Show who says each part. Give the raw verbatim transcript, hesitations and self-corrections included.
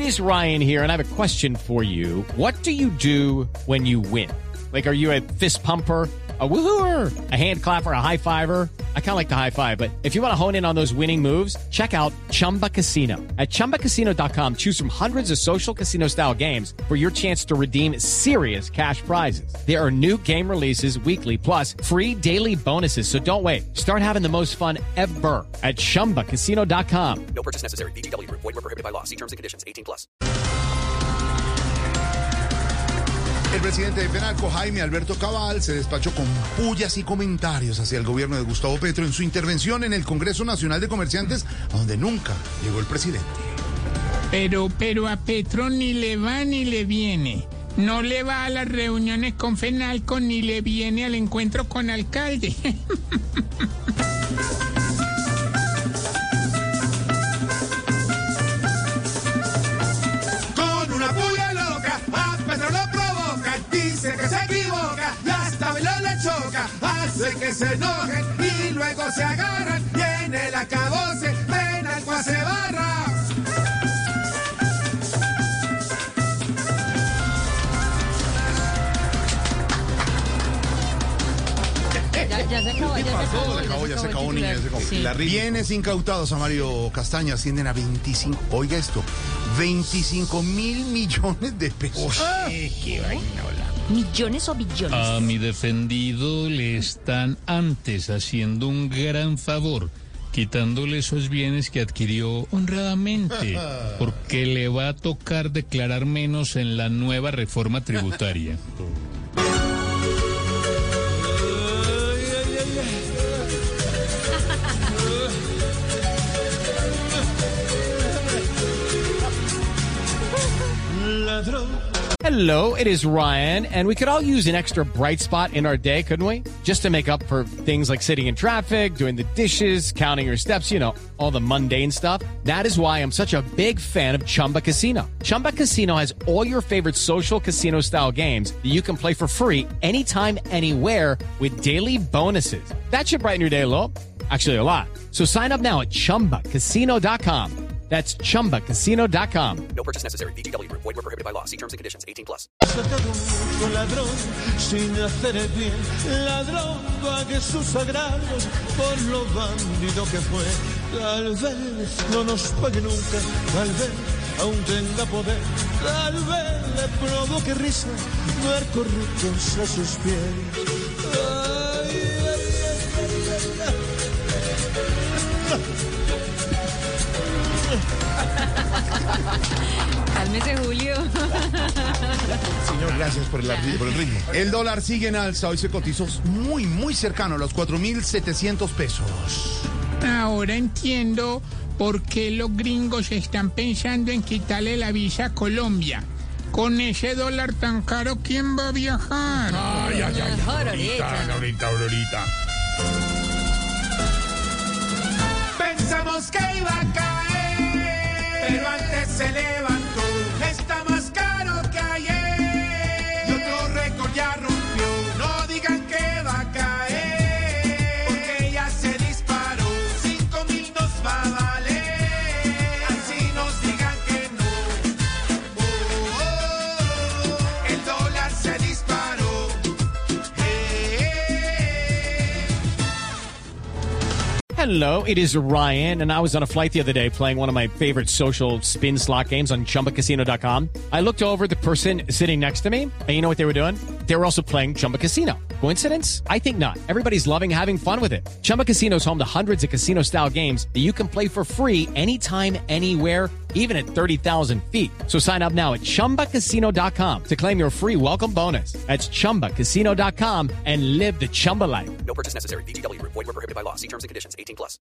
Speaker 1: is Ryan here, and I have a question for you. What do you do when you win? Like, are you a fist pumper, a woohooer, a hand clapper, a high fiver? I kind of like the high five, but if you want to hone in on those winning moves, check out Chumba Casino. At chumba casino dot com, choose from hundreds of social casino style games for your chance to redeem serious cash prizes. There are new game releases weekly, plus free daily bonuses. So don't wait. Start having the most fun ever at chumba casino dot com.
Speaker 2: No purchase necessary. V G W. Void where prohibited by law. See terms and conditions. eighteen plus.
Speaker 3: El presidente de Penalco, Jaime Alberto Cabal, se despachó con pullas y comentarios hacia el gobierno de Gustavo Petro en su intervención en el Congreso Nacional de Comerciantes, a donde nunca llegó el presidente.
Speaker 4: Pero, pero a Petro ni le va ni le viene. No le va a las reuniones con Fenalco ni le viene al encuentro con alcalde.
Speaker 5: Con una puya loca, a Petro lo provoca, dice que se equivoca, y hasta Belón le choca, hace que se enojen y luego se agarran, y en el acabose Fenalco hace barra.
Speaker 6: Ya, ya se acabó, ya se acabó.
Speaker 3: Se acabó, ya se acabó, niña, ya se acabó.
Speaker 6: Sí.
Speaker 3: Bienes incautados a Mario Castaño ascienden a veinticinco, oiga esto, veinticinco mil millones de pesos.
Speaker 4: Qué vainola.
Speaker 6: ¿Millones o billones?
Speaker 7: A mi defendido le están antes haciendo un gran favor, quitándole esos bienes que adquirió honradamente, porque le va a tocar declarar menos en la nueva reforma tributaria.
Speaker 1: Hello, it is Ryan, and we could all use an extra bright spot in our day, couldn't we? Just to make up for things like sitting in traffic, doing the dishes, counting your steps, you know, all the mundane stuff. That is why I'm such a big fan of Chumba Casino. Chumba Casino has all your favorite social casino-style games that you can play for free anytime, anywhere with daily bonuses. That should brighten your day a little. Actually, a lot. So sign up now at chumba casino dot com. That's chumba casino dot com.
Speaker 2: No purchase necessary. V G W. Void where prohibited by law. See terms and conditions. eighteen plus.
Speaker 5: Sacado mucho ladrón sin hacer el bien, ladrón pague sus agravios por lo bandido que fue. Tal vez no nos pague nunca, tal vez aún tenga poder, tal vez le provoque risa ver corruptos a sus pies. Ay, ay, ay, ay, ay.
Speaker 6: Cálmese, Julio.
Speaker 3: Señor, gracias por el, por el ritmo. El dólar sigue en alza, hoy se cotizó muy, muy cercano a los cuatro mil setecientos pesos.
Speaker 4: Ahora entiendo por qué los gringos están pensando en quitarle la visa a Colombia. Con ese dólar tan caro, ¿quién va a viajar?
Speaker 3: Ay, ay, ay,
Speaker 6: Aurorita.
Speaker 3: Aurorita, Aurorita.
Speaker 5: Pensamos que iba a caer, pero antes se levantó. Está más caro que ayer. Y otro récord ya rompió. No digan que va a caer, porque ya se disparó. Cinco mil nos va a valer. Así nos digan que no. Oh, oh, oh. El dólar se disparó. Eh, eh.
Speaker 1: Hello, it is Ryan, and I was on a flight the other day playing one of my favorite social spin slot games on chumba casino dot com. I looked over at the person sitting next to me, and you know what they were doing? They were also playing Chumba Casino. Coincidence? I think not. Everybody's loving having fun with it. Chumba Casino is home to hundreds of casino-style games that you can play for free anytime, anywhere, even at thirty thousand feet. So sign up now at chumba casino dot com to claim your free welcome bonus. That's chumba casino dot com and live the Chumba life.
Speaker 2: No purchase necessary. V G W. Void where prohibited by law. See terms and conditions. eighteen plus.